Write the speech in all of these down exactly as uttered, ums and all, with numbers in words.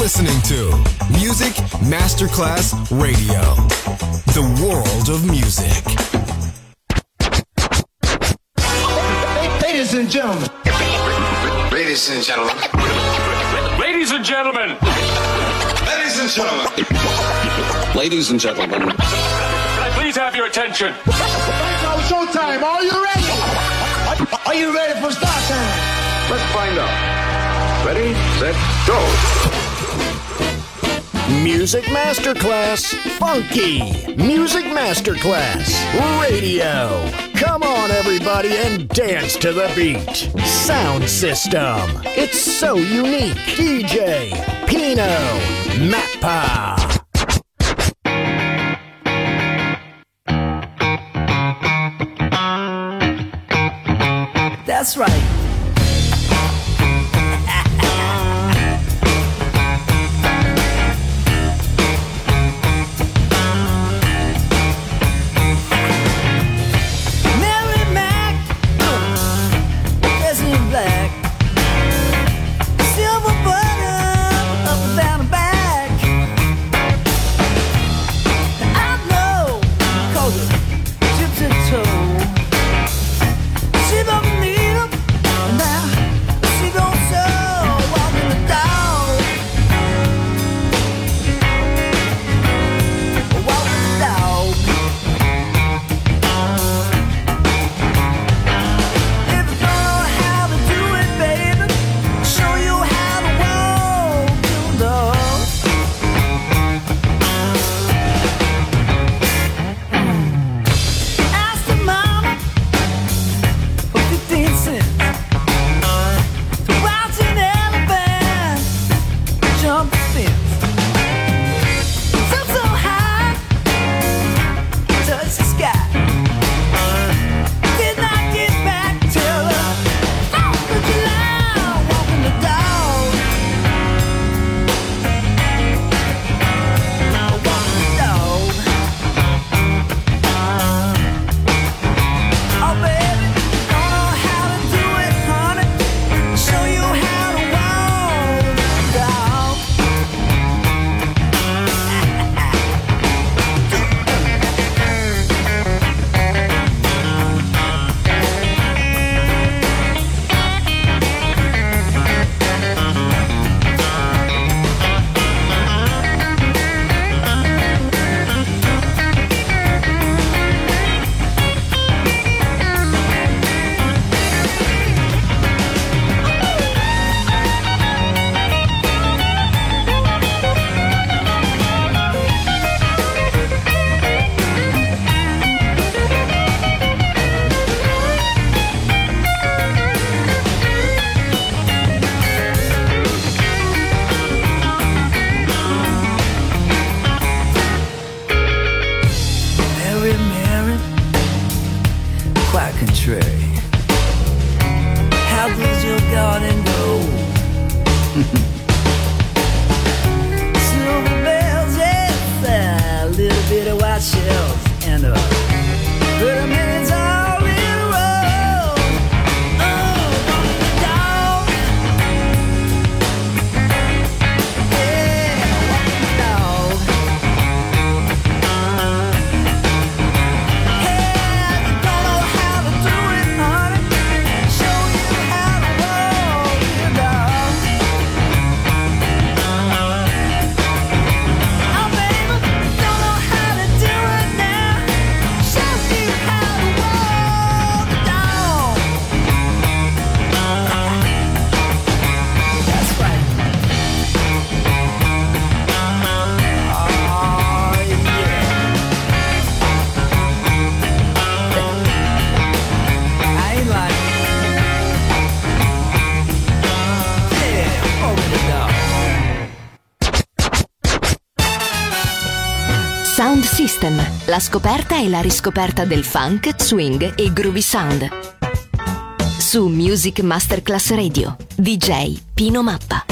listening to Music Masterclass Radio, the world of music. Ladies and gentlemen. Ladies and gentlemen. Ladies and gentlemen. Ladies and gentlemen. Ladies and gentlemen. Can I please have your attention? It's showtime. Are you ready? Are you ready for start time? Let's find out. Ready, set, go. Music Masterclass Funky. Music Masterclass Radio. Come on, everybody, and dance to the beat. Sound system. It's so unique. D J Pino Mappa. That's right. Sound System, la scoperta e la riscoperta del funk, swing e groovy sound. Su Music Masterclass Radio, D J Pino Mappa.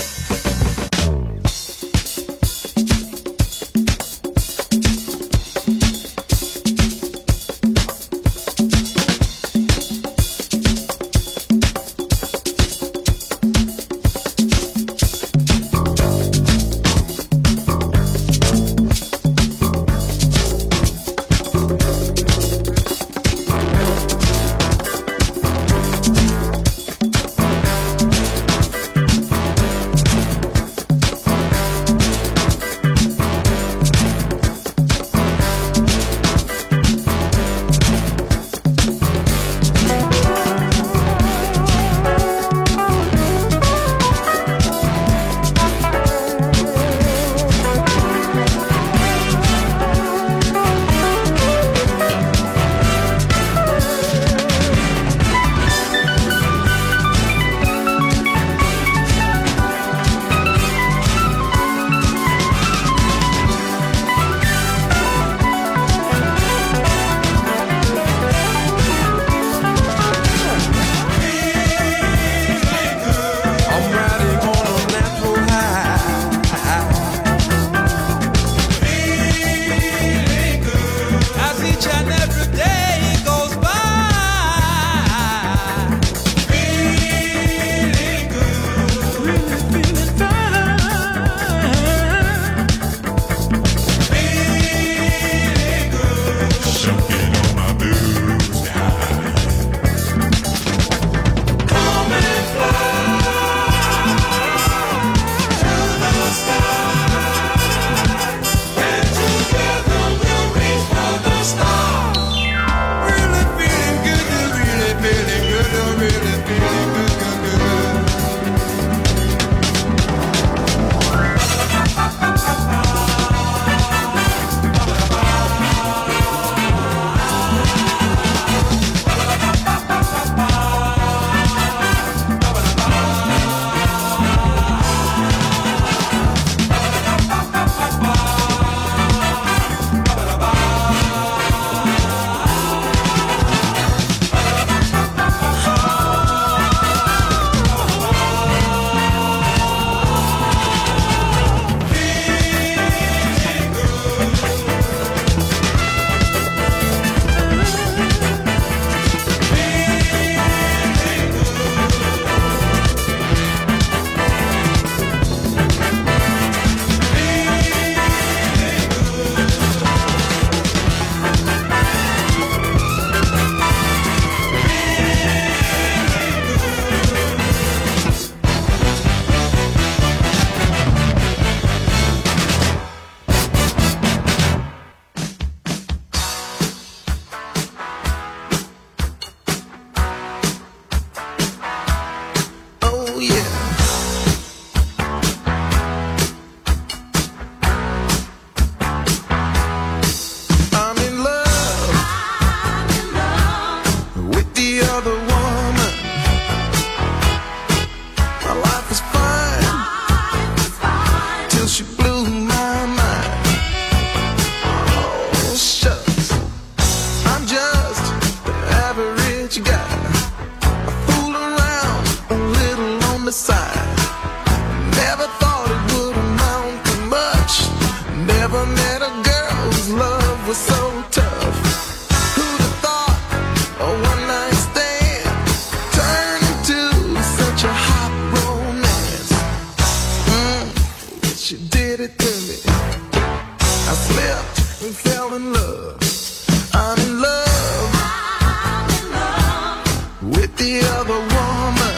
she did it to me. I slipped and fell in love. I'm in love, I'm in love with the other woman.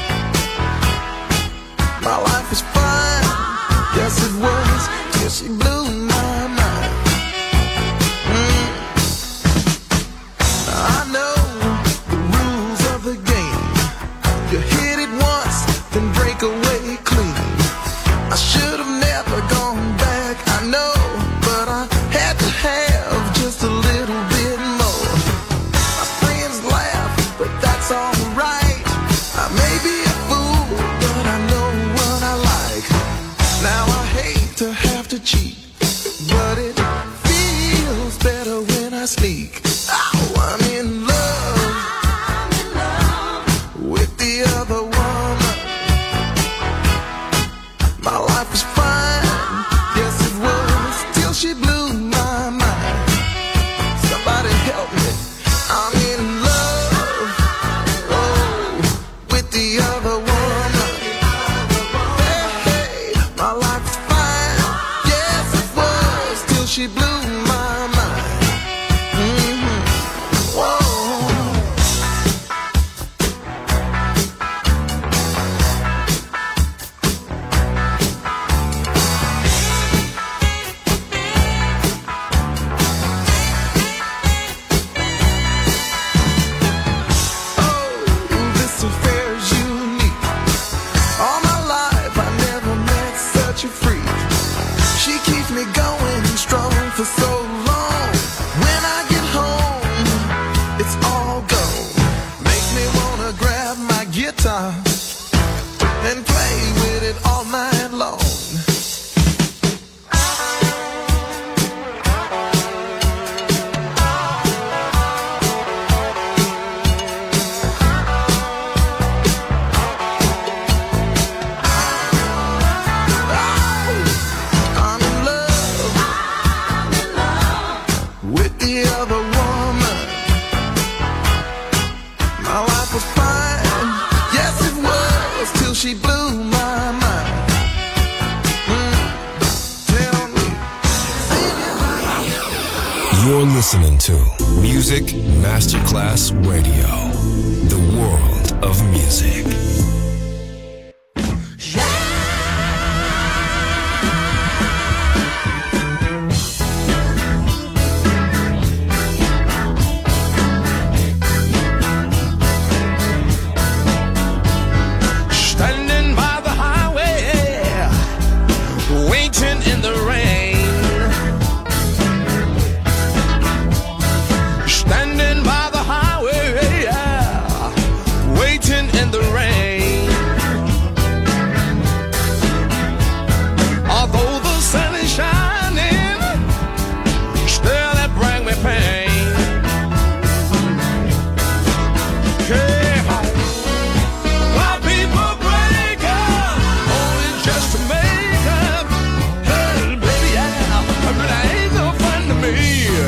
My life was fine, yes it was, till she blew my mind. Mm. I know the rules of the game. You hit it once, then break away clean. I should have never gone back, I know, but I had to have just a little bit more. My friends laugh, but that's alright. I may be a fool, but I know what I like. Now I hate to have to cheat, but it feels better when I sneak. Oh, I'm in love, I'm in love with the other woman. My life was fine, yes it was, till she blew my mind. Somebody help me, I'm in love, oh, with the other woman. Hey, hey, my life was fine, yes it was, till she blew my mind. Mm-hmm. Whoa. This affair is unique. All my life I never met such a freak. She keeps me going strong for so long. When I get home, it's all gone. Make me wanna grab my guitar and play with it all night long. I'm in love, I'm in love with the other woman. My life was fine, yes it was, till she blew my mind. Mm, tell me, You're listening to Music Masterclass Radio, the world of music. standing by the highway, waiting in the rain. Standing by the highway, yeah, waiting in the rain. Although the sun is shining, still it brings me pain. Hey, why people break up, only just to make up. Hey, baby, yeah, it really ain't no fun to me.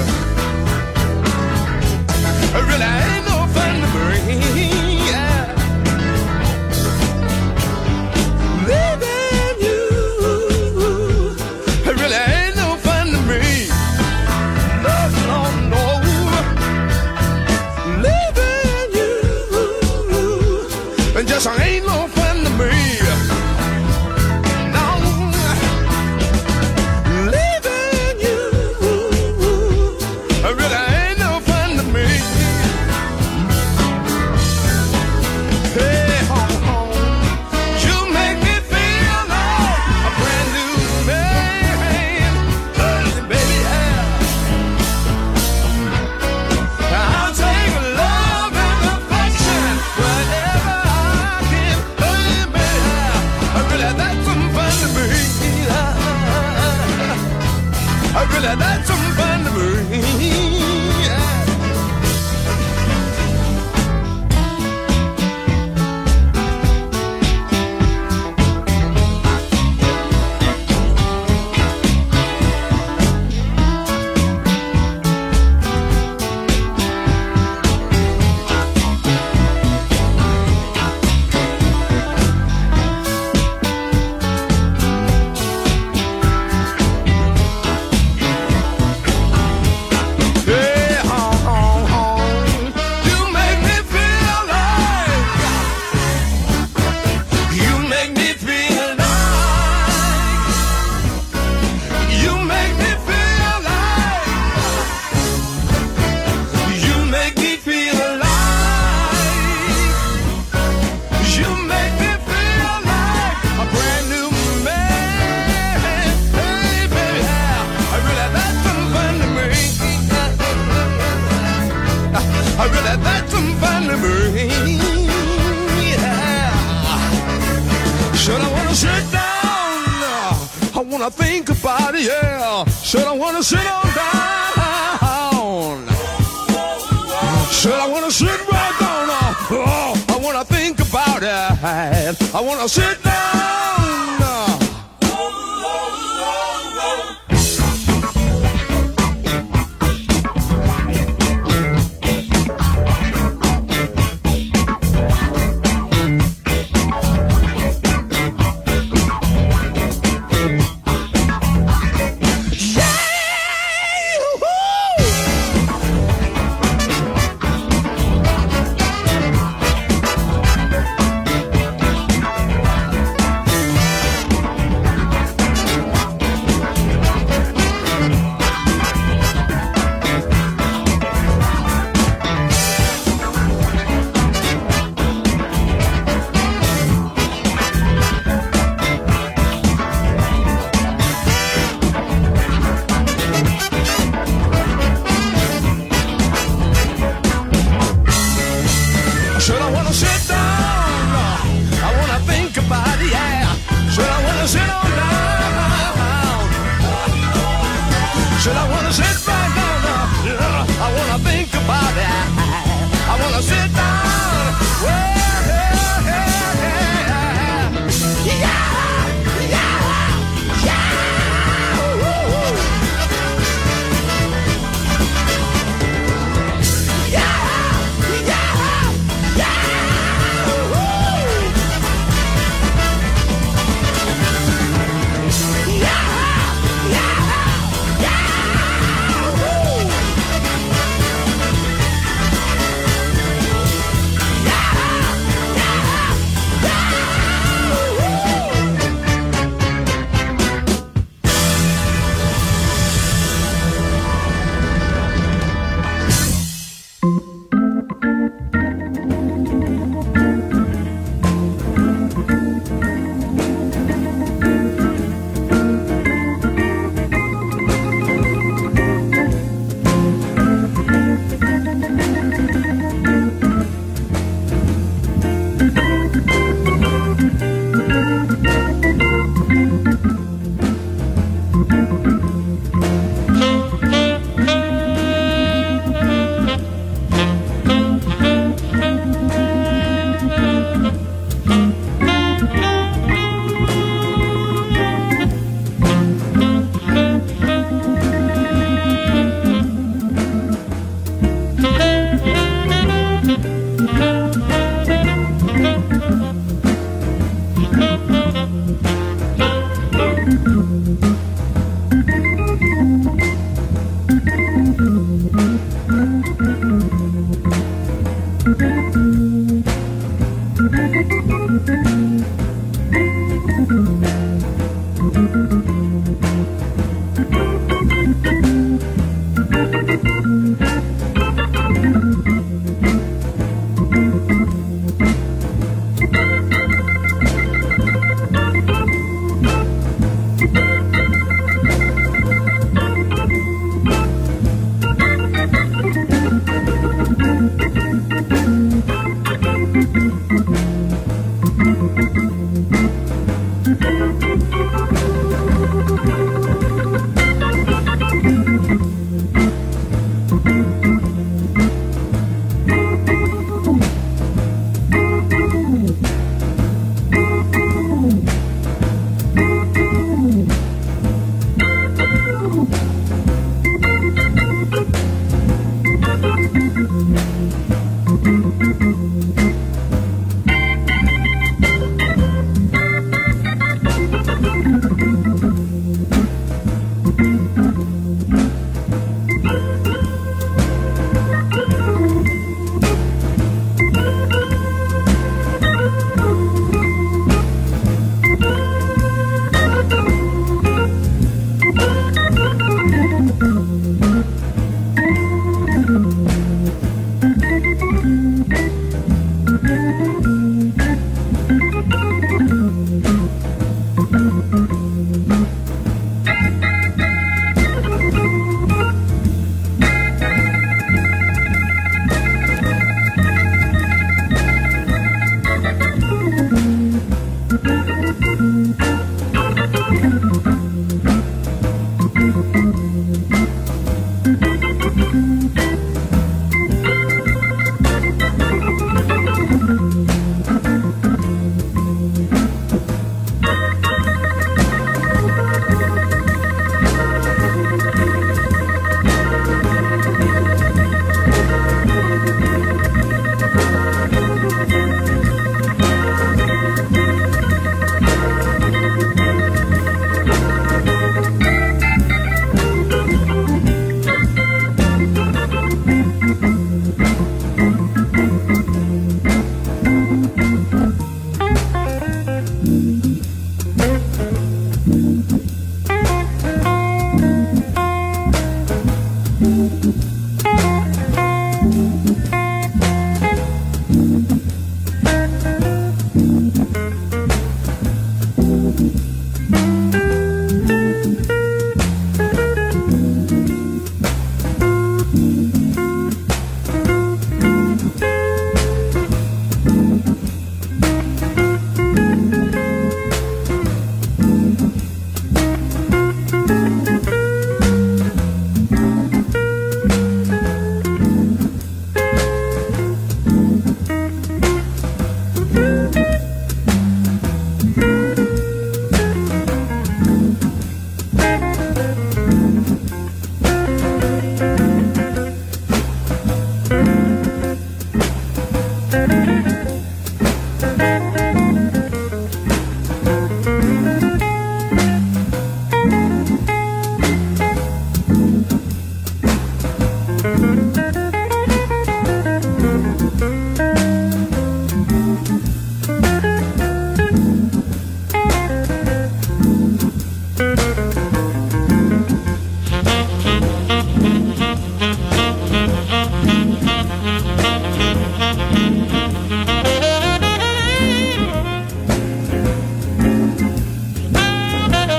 It really ain't no fun to me. Yeah. Leaving you, it really ain't no fun to me. No, no, no. Leaving you, it just ain't no fun to me. No. Leaving you, it really ain't no fun to me. Hey, home, home, you make me feel like a brand new man. Hey, baby, yeah. I'll take love and affection whenever I can. Hey, baby, yeah. Really, that's some fun to me. I really, that's some fun to me. Yeah. wanna think about it, yeah. Said I wanna sit on down. Said I wanna sit right down. Oh, I wanna think about it. I wanna sit down.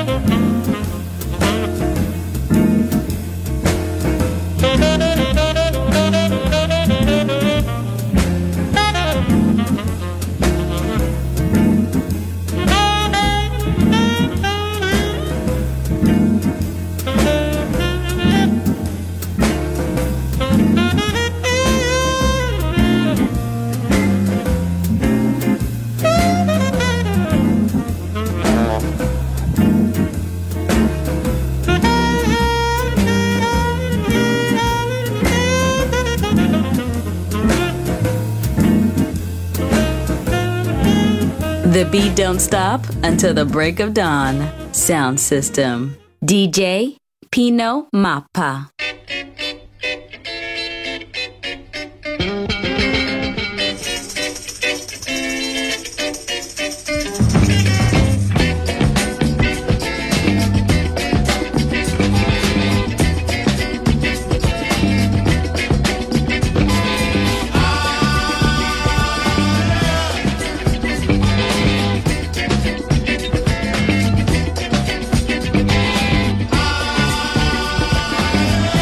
The beat don't stop until the break of dawn. Sound system. D J Pino Mappa. Ah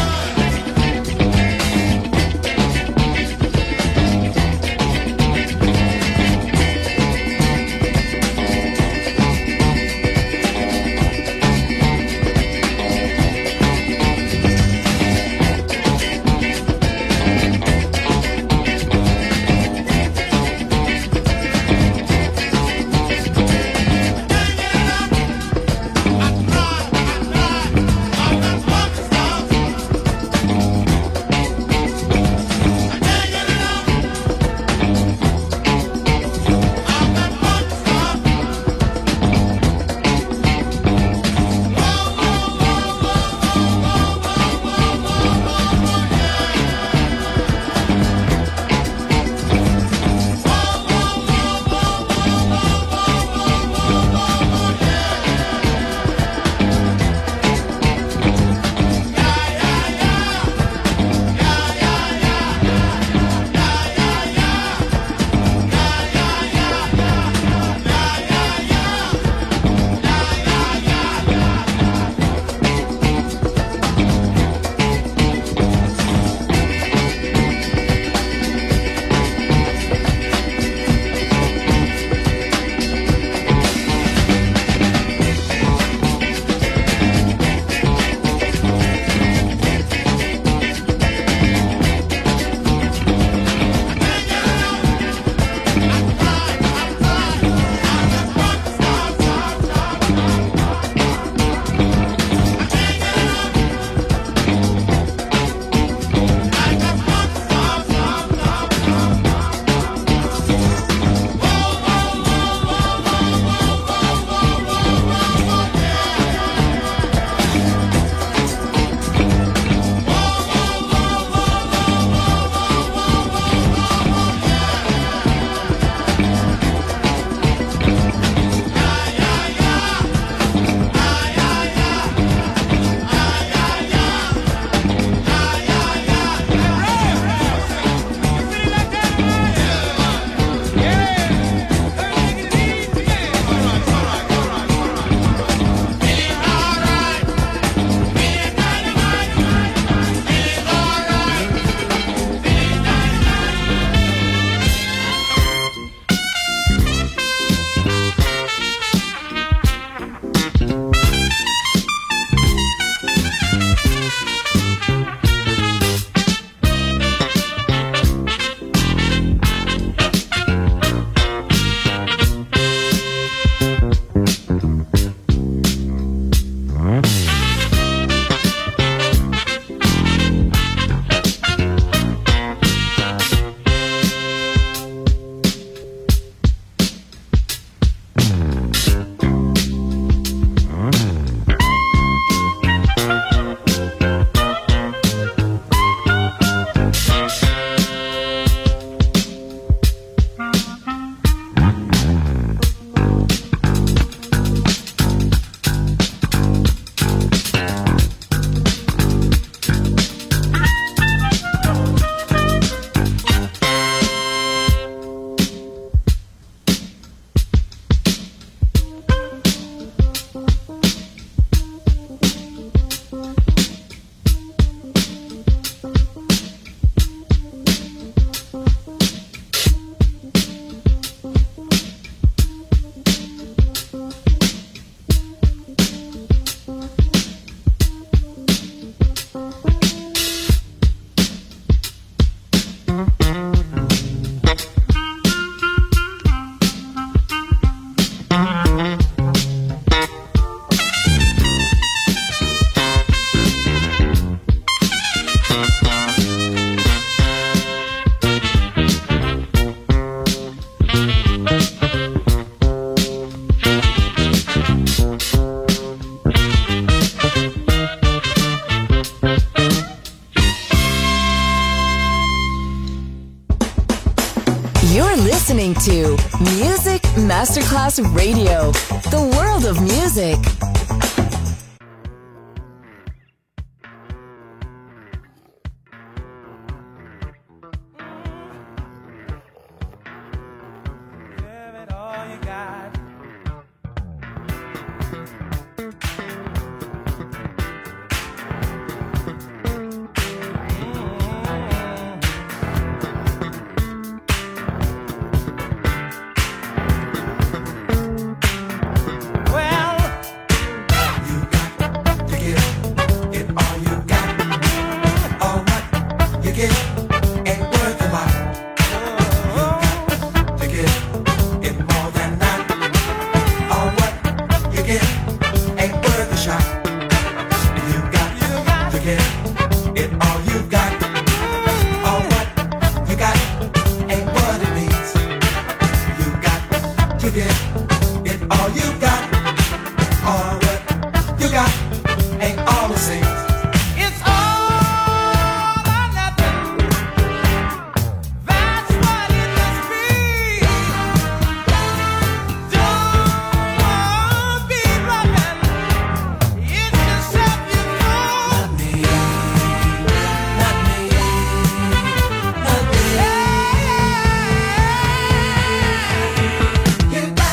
Music Masterclass Radio. The world of music.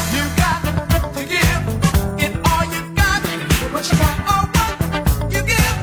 You got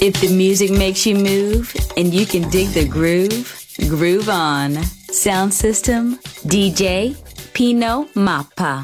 If the music makes you move and you can dig the groove, groove on. Sound system, D J Pino Mappa.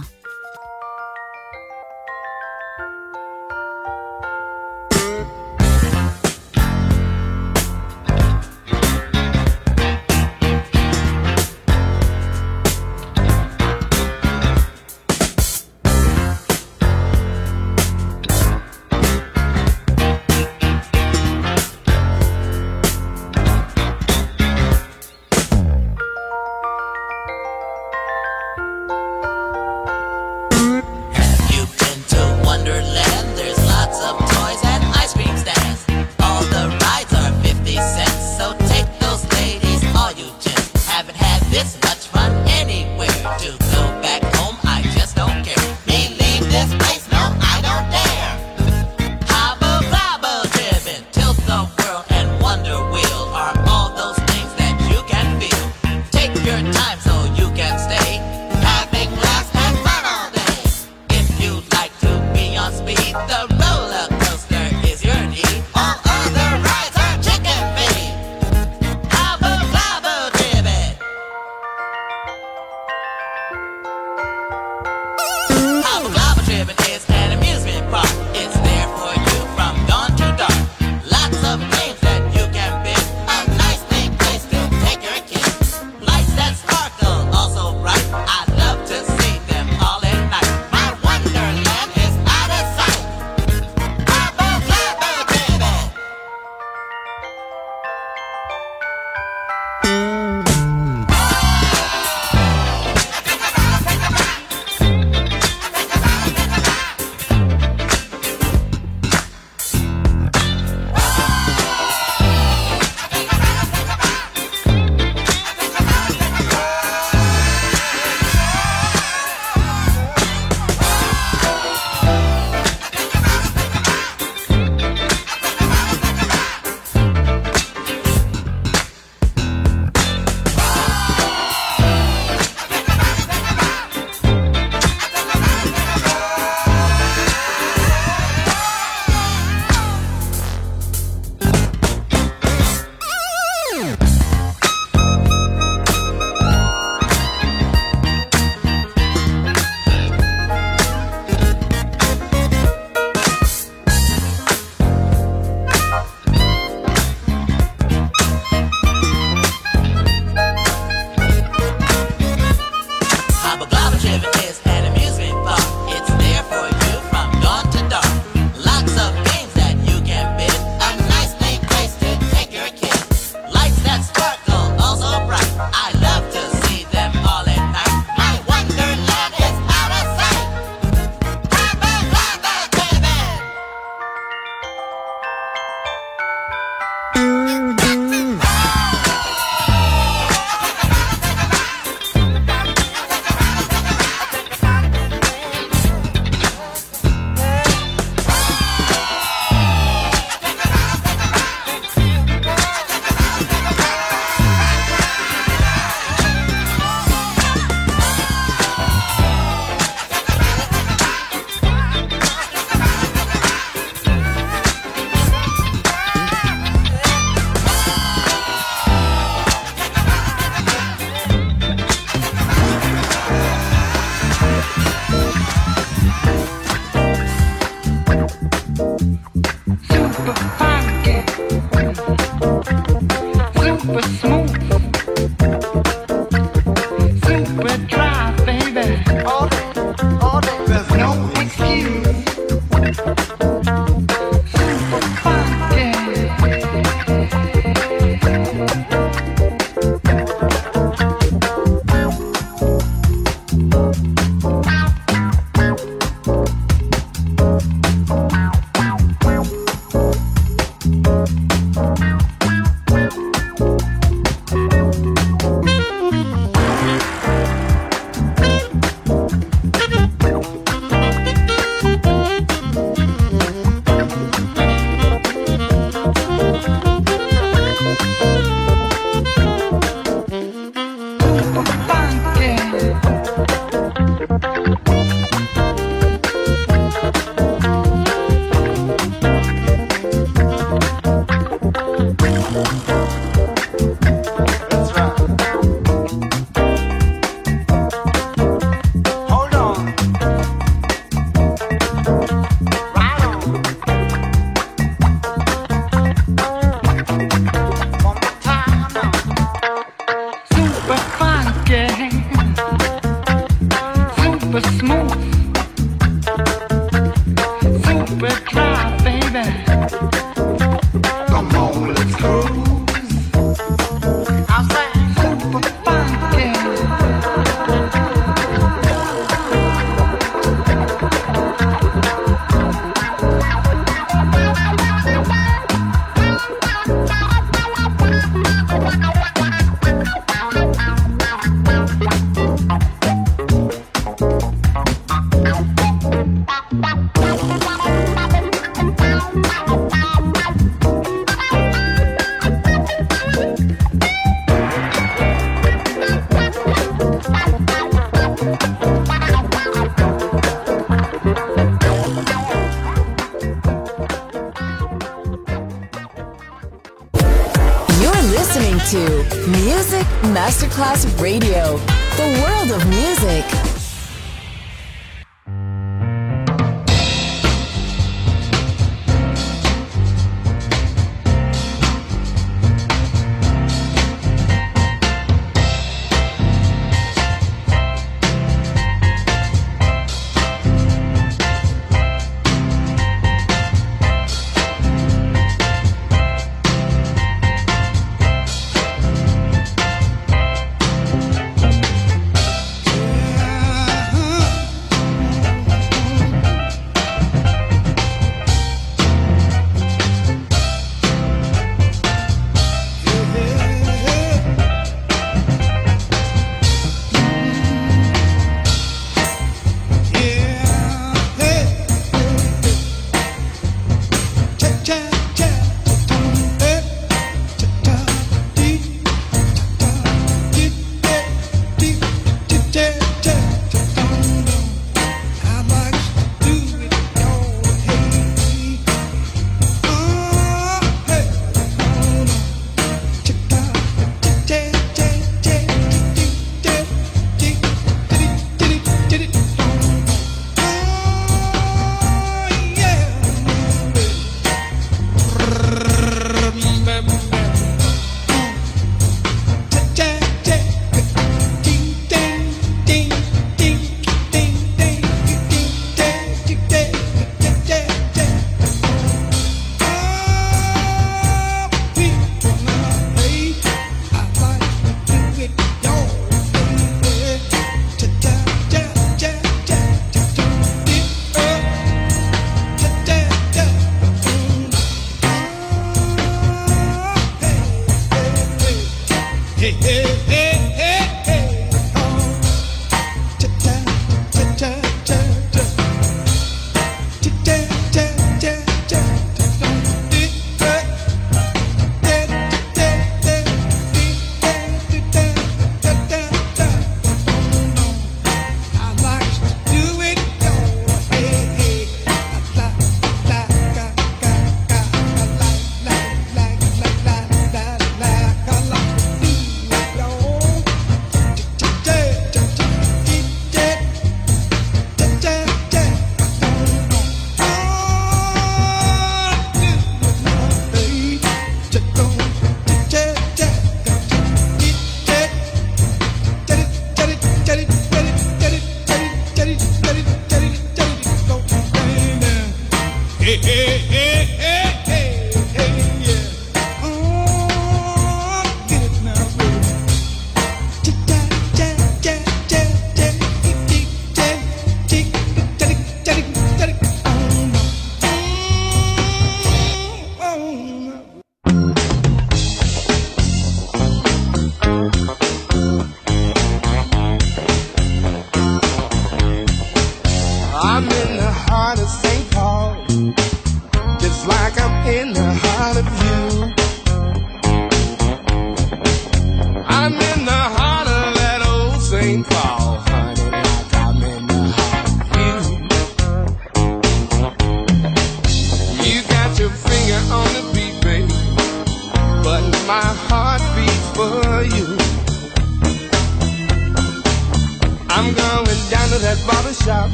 Listening to Music Masterclass Radio, the world of music.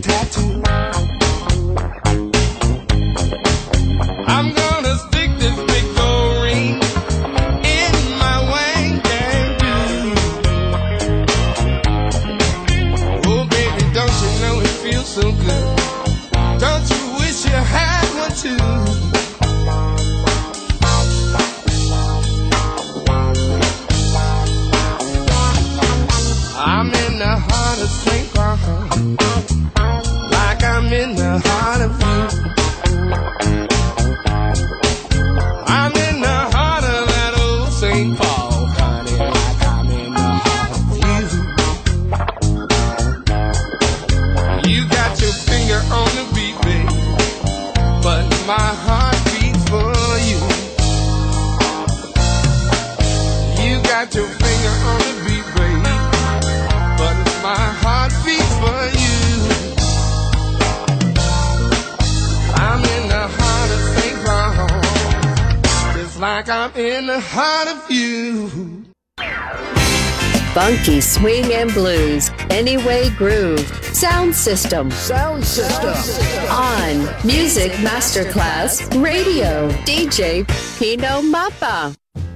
tattoo. I'm gonna stick this big gold ring in my wang dang. Oh baby, don't you know it feels so good? Don't you wish you had one too? I'm in the heart of Saint Paul, like I'm in the heart of you. I'm in the heart of that old Saint Paul, honey, like I'm in the heart of you. You got your finger on the beat, baby, but my heart beats for you. You got your finger on the beat, baby, but my heart beats for you. I'm in the heart of Saint Paul, just like I'm in the heart of you. Funky swing and blues, Anyway Groove, Sound System. Sound System. On Music Masterclass Radio, D J Pino Mappa.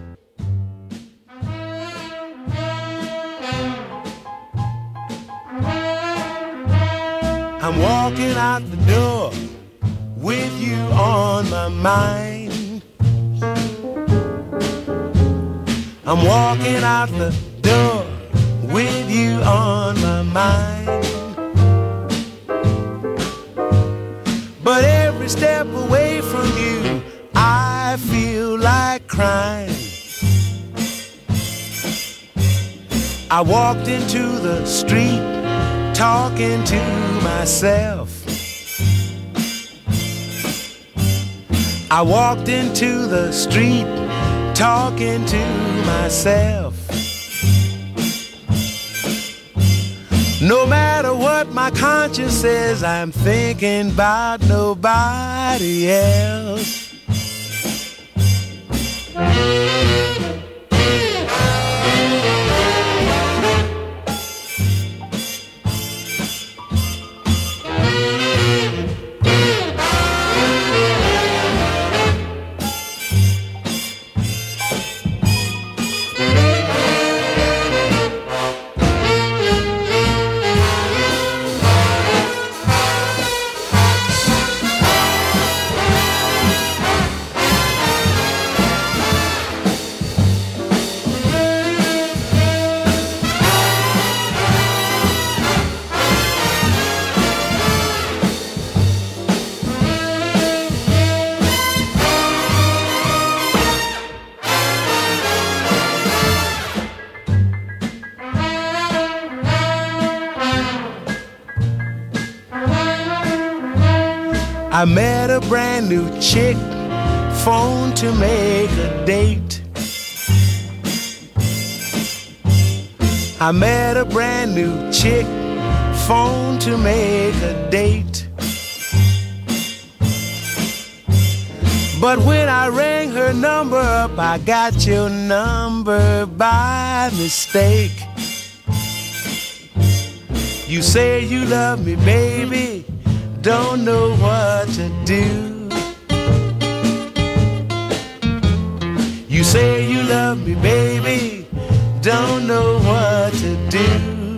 I'm walking out the door with you on my mind. I'm walking out the door with you on my mind. But every step away from you, I feel like crying. I walked into the street talking to myself. I walked into the street talking to myself. No matter what my conscience says, I'm thinking about nobody else. I met a brand new chick, phoned to make a date. I met a brand new chick, phoned to make a date. But when I rang her number up, I got your number by mistake. You say you love me, baby, don't know what to do. You say you love me, baby, don't know what to do.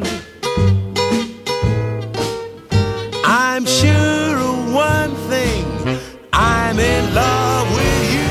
I'm sure of one thing, I'm in love with you.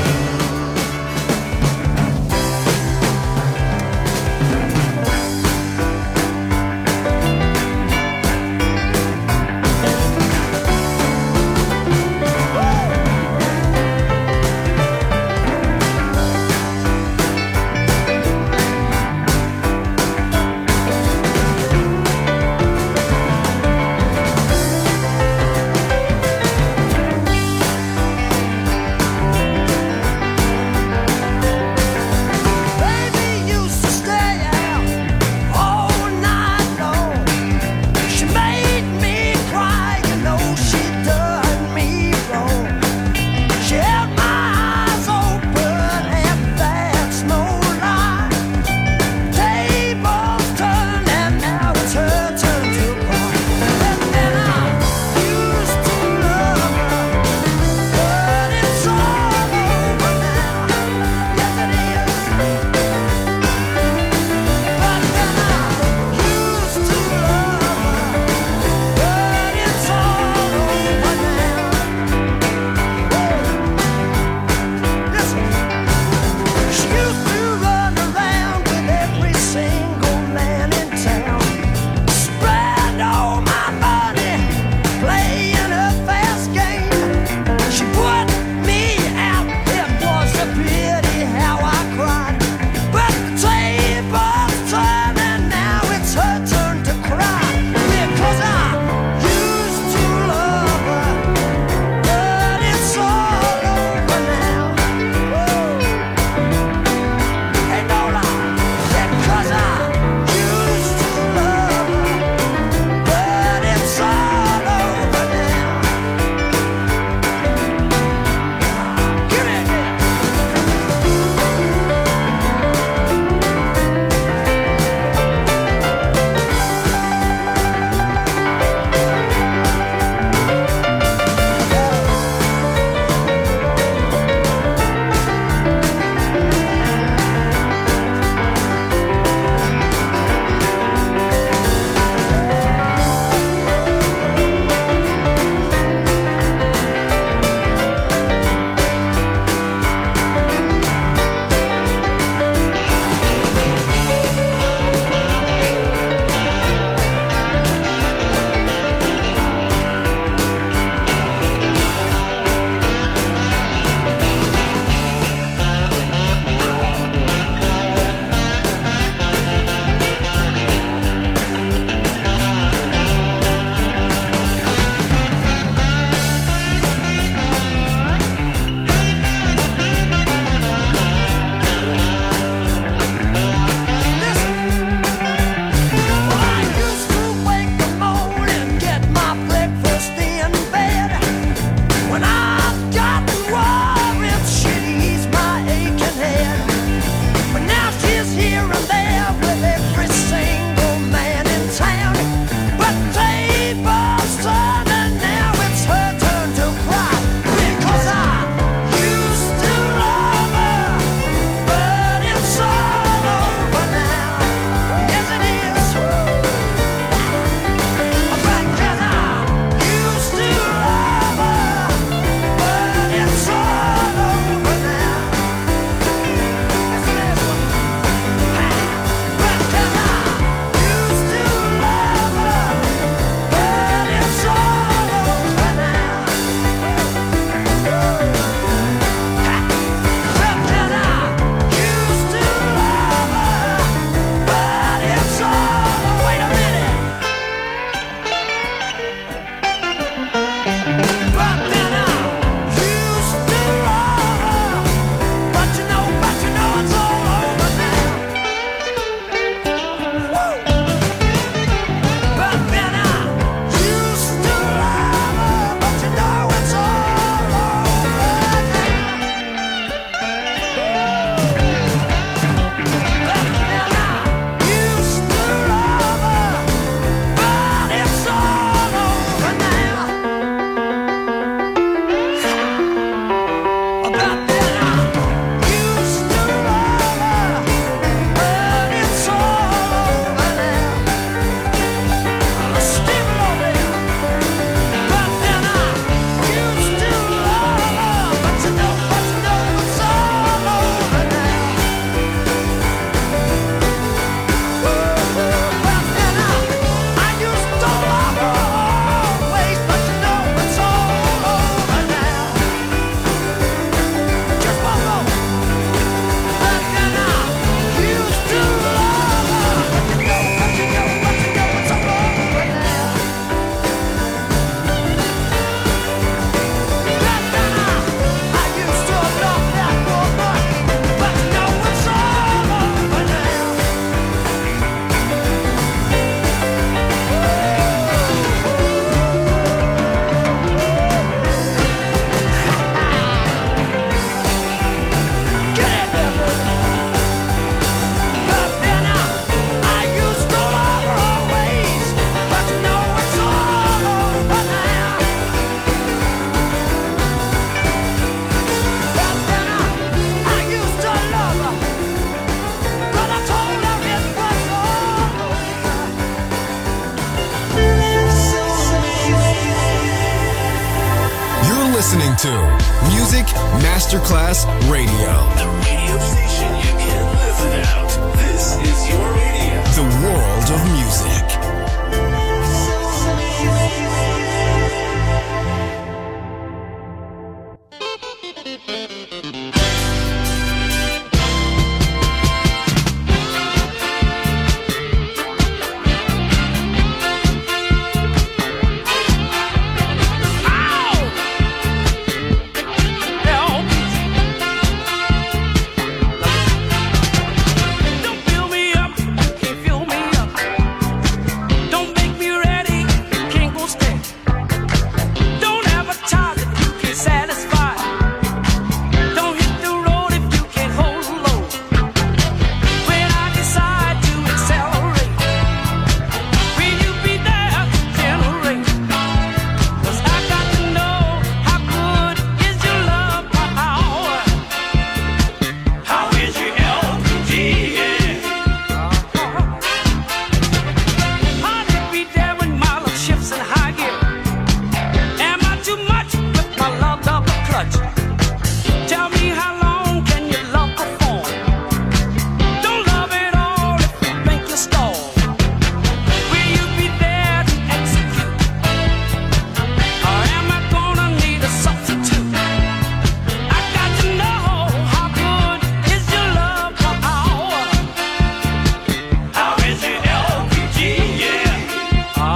listening to Music Masterclass Radio. The radio station you can't live without. This is your radio. The world of music.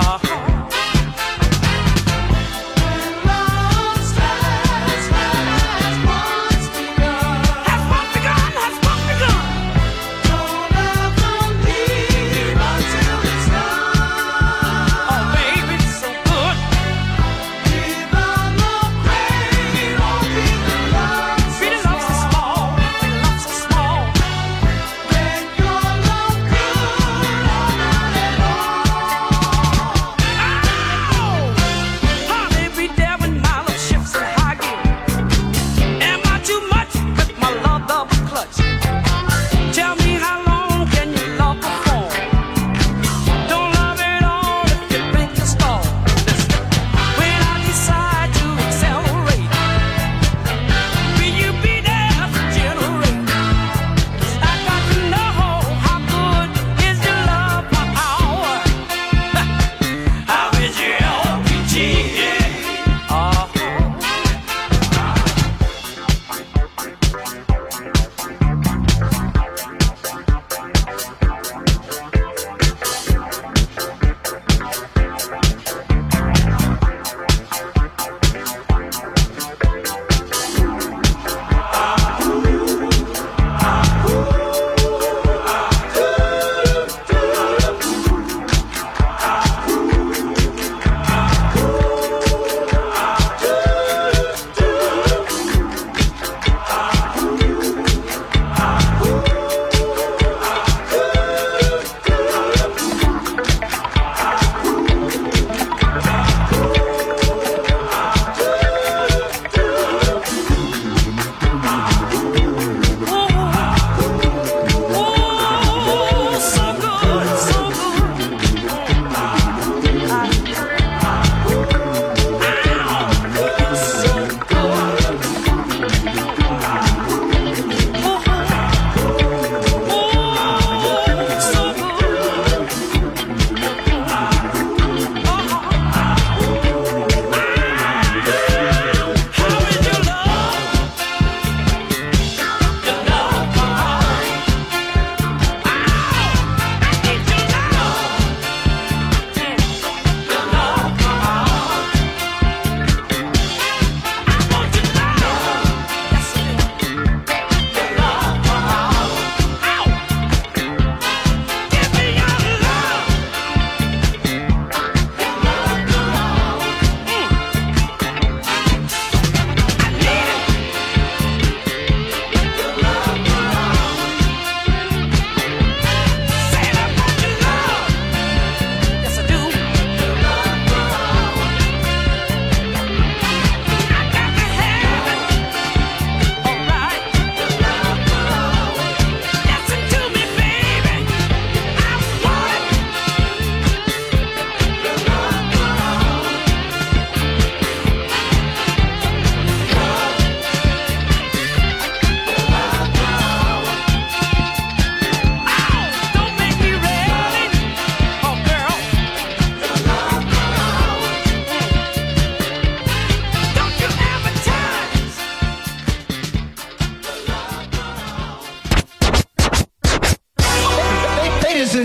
Love stars.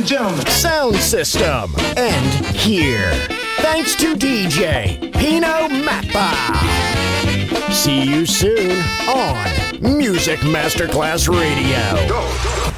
and gentlemen. Sound system. And here. Thanks to D J Pino Mappa. See you soon on Music Masterclass Radio. Go.